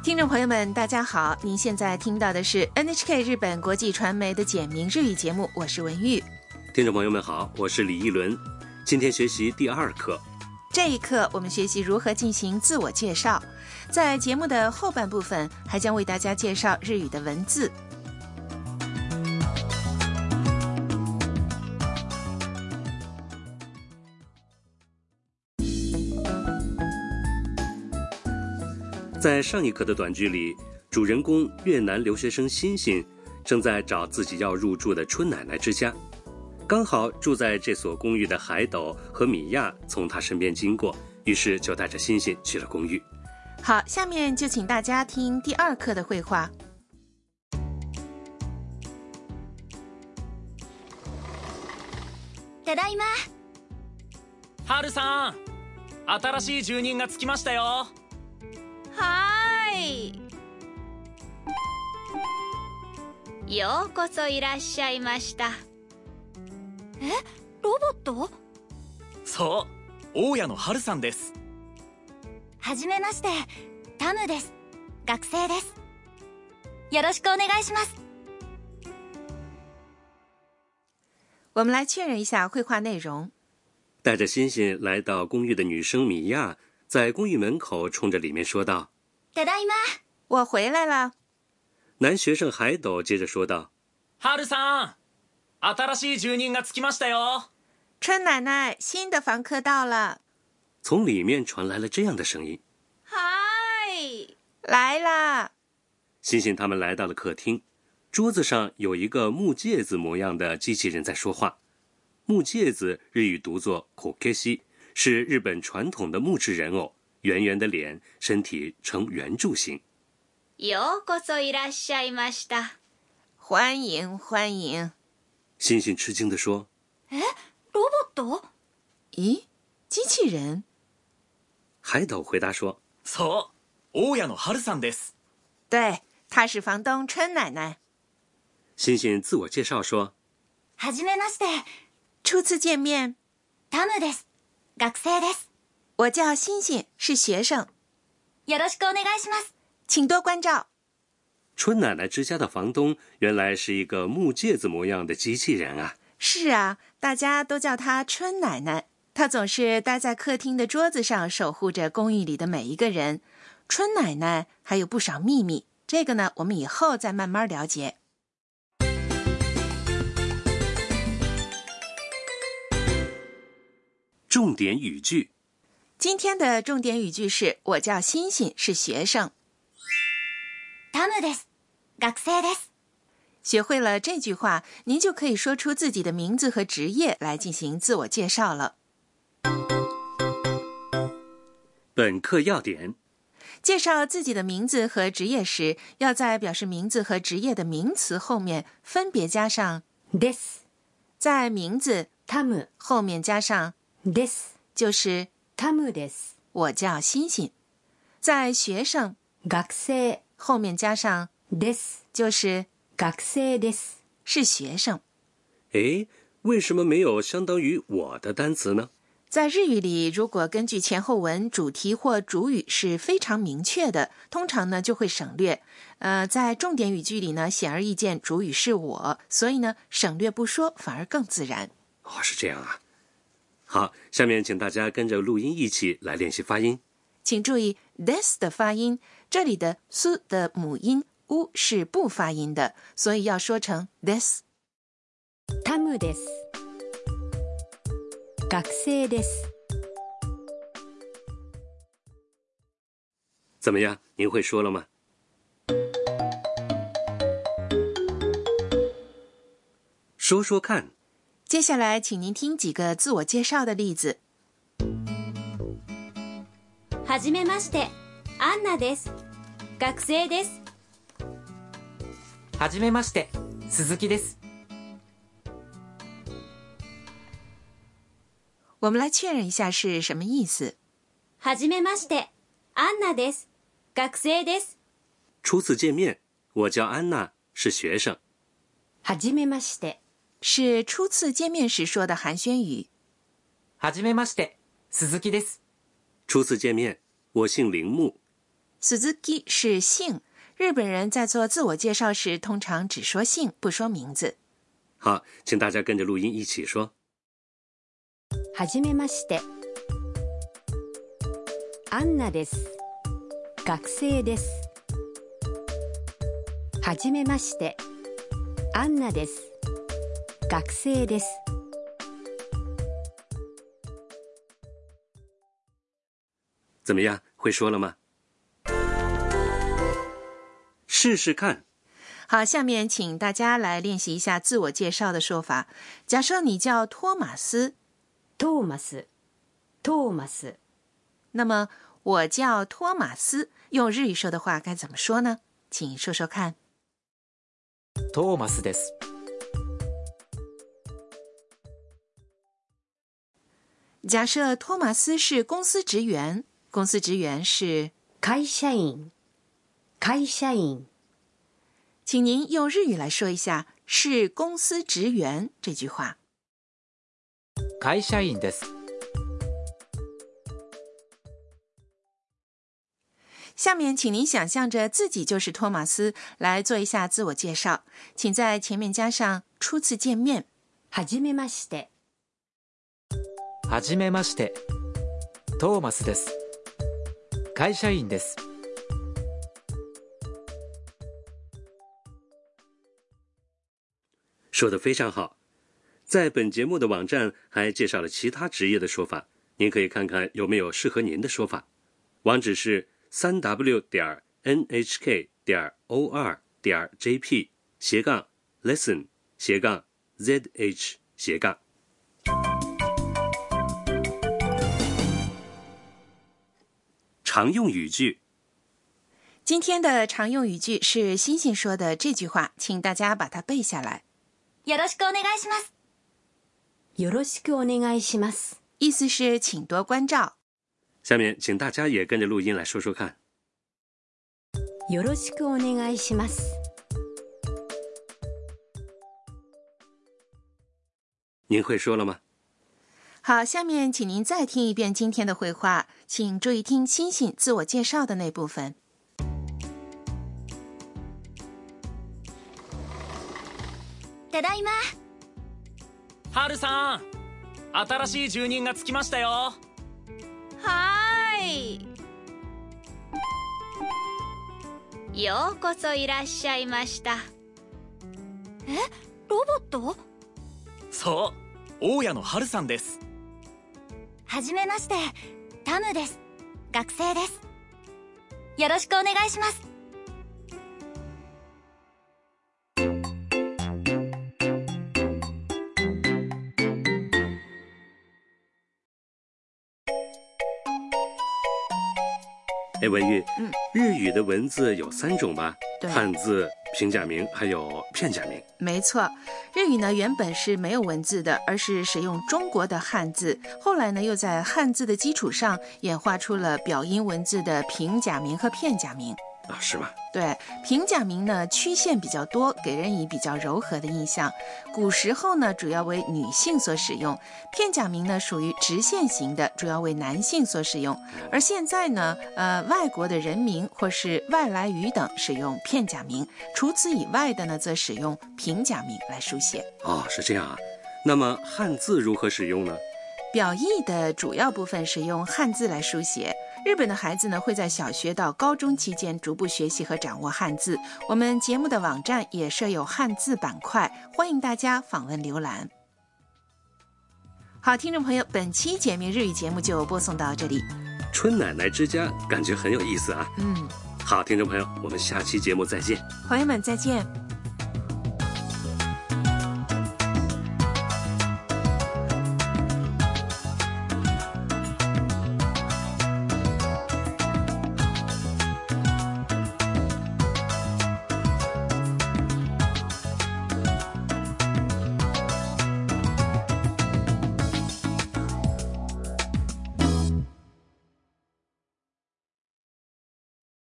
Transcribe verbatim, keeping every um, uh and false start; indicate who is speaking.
Speaker 1: 听众朋友们大家好，您现在听到的是 N H K 日本国际传媒的简明日语节目，我是文玉。
Speaker 2: 听众朋友们好，我是李一伦。今天学习第二课，
Speaker 1: 这一课我们学习如何进行自我介绍，在节目的后半部分还将为大家介绍日语的文字。
Speaker 2: 在上一课的短剧里，主人公越南留学生欣欣正在找自己要入住的春奶奶之家，刚好住在这所公寓的海斗和米娅从他身边经过，于是就带着欣欣去了公寓。
Speaker 1: 好，下面就请大家听第二课的绘画。
Speaker 3: ただいま。
Speaker 4: 春さん、新しい住人が着きましたよ。
Speaker 3: はーい。ようこそいらっしゃいました。え、ロボット？
Speaker 4: そう、大家の春さんです。
Speaker 3: はじめまして、タムです。学生です。よろしくお願いします。
Speaker 1: 我们来确认一下绘画内容。
Speaker 2: 带着欣欣来到公寓的女生米娅在公寓门口冲着里面说道：
Speaker 3: ただいま。
Speaker 1: 我回来了。
Speaker 2: 男学生海斗接着说道：
Speaker 4: 春さん、新しい住人が着きましたよ。
Speaker 1: 春奶奶，新的房客到了。
Speaker 2: 从里面传来了这样的声音：
Speaker 3: はーい。
Speaker 1: 来啦。
Speaker 2: 欣欣他们来到了客厅，桌子上有一个木芥子模样的机器人在说话。木芥子日语读作 kokeshi， 是日本传统的木质人偶，圆圆的脸，身体呈圆柱形。
Speaker 3: ようこそいらっしゃいました。
Speaker 1: 欢迎欢迎。
Speaker 2: 欣欣吃惊地说：
Speaker 3: え、ロボット？
Speaker 1: 咦，机器人？
Speaker 2: 海斗回答说：
Speaker 4: そう、大家の春さんです。
Speaker 1: 对，她是房东春奶奶。
Speaker 2: 欣欣自我介绍说：
Speaker 3: はじめまして。
Speaker 1: 初次见面。
Speaker 3: タムです。学生です。
Speaker 1: 我叫欣欣，是学生。
Speaker 3: よろしくお願いします。
Speaker 1: 请多关照。
Speaker 2: 春奶奶之家的房东原来是一个木芥子模样的机器人啊。
Speaker 1: 是啊，大家都叫她春奶奶。她总是待在客厅的桌子上，守护着公寓里的每一个人。春奶奶还有不少秘密，这个呢，我们以后再慢慢了解。
Speaker 2: 重点语句。
Speaker 1: 今天的重点语句是：我叫欣欣，是学生。
Speaker 3: タムです。学生です。
Speaker 1: 学会了这句话，您就可以说出自己的名字和职业来进行自我介绍了。
Speaker 2: 本课要点：
Speaker 1: 介绍自己的名字和职业时，要在表示名字和职业的名词后面分别加上です，在名字タム后面加上です，就是タムです。我叫欣欣。在学生学生后面加上です，就是学生です，是学生。
Speaker 2: 诶，为什么没有相当于我的单词呢？
Speaker 1: 在日语里，如果根据前后文主题或主语是非常明确的，通常呢就会省略。呃，在重点语句里呢，显而易见主语是我，所以呢省略不说反而更自然。
Speaker 2: 哦，是这样啊。好，下面请大家跟着录音一起来练习发音。
Speaker 1: 请注意 this 的发音，这里的 su 的母音 u 是不发音的，所以要说成 this。タムです。学生です。
Speaker 2: 怎么样，您会说了吗？说说看。
Speaker 1: 接下来请您听几个自我介绍的例子。
Speaker 3: はじめまして、アンナです。学生です。
Speaker 4: はじめまして、鈴木です。
Speaker 1: 我们来确认一下是什么意思。
Speaker 3: はじめまして、アンナです。学生です。
Speaker 2: 初次见面，我叫安娜，是学生。
Speaker 1: はじめまして是初次见面时说的寒暄语。
Speaker 4: はじめまして、鈴木です。
Speaker 2: 初次见面，我姓铃木。
Speaker 1: Suzuki 是姓，日本人在做自我介绍时通常只说姓不说名字。
Speaker 2: 好，请大家跟着录音一起说。
Speaker 5: はじめまして。アンナです。学生です。はじめまして。アンナです。学生です。
Speaker 2: 怎么样，会说了吗？试试看。
Speaker 1: 好，下面请大家来练习一下自我介绍的说法。假设你叫托马斯，
Speaker 5: トーマス、トーマス。
Speaker 1: 那么我叫托马斯，用日语说的话该怎么说呢？请说说看。
Speaker 4: トーマスです。
Speaker 1: 假设托马斯是公司职员，公司职员是
Speaker 5: 会社員、会社員。
Speaker 1: 请您用日语来说一下“是公司职员”这句话。
Speaker 4: 会社員です。
Speaker 1: 下面请您想象着自己就是托马斯，来做一下自我介绍，请在前面加上初次见面。
Speaker 5: はじめまして。
Speaker 4: はじめまして。トーマスです。会社員です。
Speaker 2: 说得非常好。在本节目的网站还介绍了其他职业的说法，您可以看看有没有适合您的说法。网址是 三 w 点 n h k 点 o 二 点 j p 斜杠 lesson 斜杠 z h 斜杠。常用语句。
Speaker 1: 今天的常用语句是星星说的这句话，请大家把它背下来。
Speaker 3: よろしくお願いします。
Speaker 5: よろしくお願いします。
Speaker 1: 意思是请多关照。
Speaker 2: 下面请大家也跟着录音来说说看。
Speaker 5: よろしくお願いします。
Speaker 2: 您会说了吗？
Speaker 1: 好，下面请您再听一遍今天的会话，请注意听星星自我介绍的那部分。
Speaker 3: ただいま。
Speaker 4: ハルさん、新しい住人が着きましたよ。
Speaker 3: はーい。ようこそいらっしゃいました。え、ロボット？
Speaker 4: そう、大家のハルさんです。
Speaker 3: はじめまして、タムです。学生です。よろしくお願いします。
Speaker 2: 哎，文玉，
Speaker 1: 嗯，
Speaker 2: 日语的文字有三种吧？
Speaker 1: 对，
Speaker 2: 汉字、平假名还有片假名。
Speaker 1: 没错，日语呢原本是没有文字的，而是使用中国的汉字，后来呢又在汉字的基础上演化出了表音文字的平假名和片假名。
Speaker 2: 啊，是吗？
Speaker 1: 对，平假名呢曲线比较多，给人以比较柔和的印象。古时候呢主要为女性所使用，片假名呢属于直线型的，主要为男性所使用。而现在呢，呃，外国的人名或是外来语等使用片假名，除此以外的呢，则使用平假名来书写。
Speaker 2: 哦，是这样啊。那么汉字如何使用呢？
Speaker 1: 表意的主要部分是用汉字来书写。日本的孩子呢，会在小学到高中期间逐步学习和掌握汉字。我们节目的网站也设有汉字板块，欢迎大家访问浏览。好，听众朋友，本期简明日语节目就播送到这里。
Speaker 2: 春奶奶之家感觉很有意思啊。
Speaker 1: 嗯，
Speaker 2: 好，听众朋友，我们下期节目再见。
Speaker 1: 朋友们再见。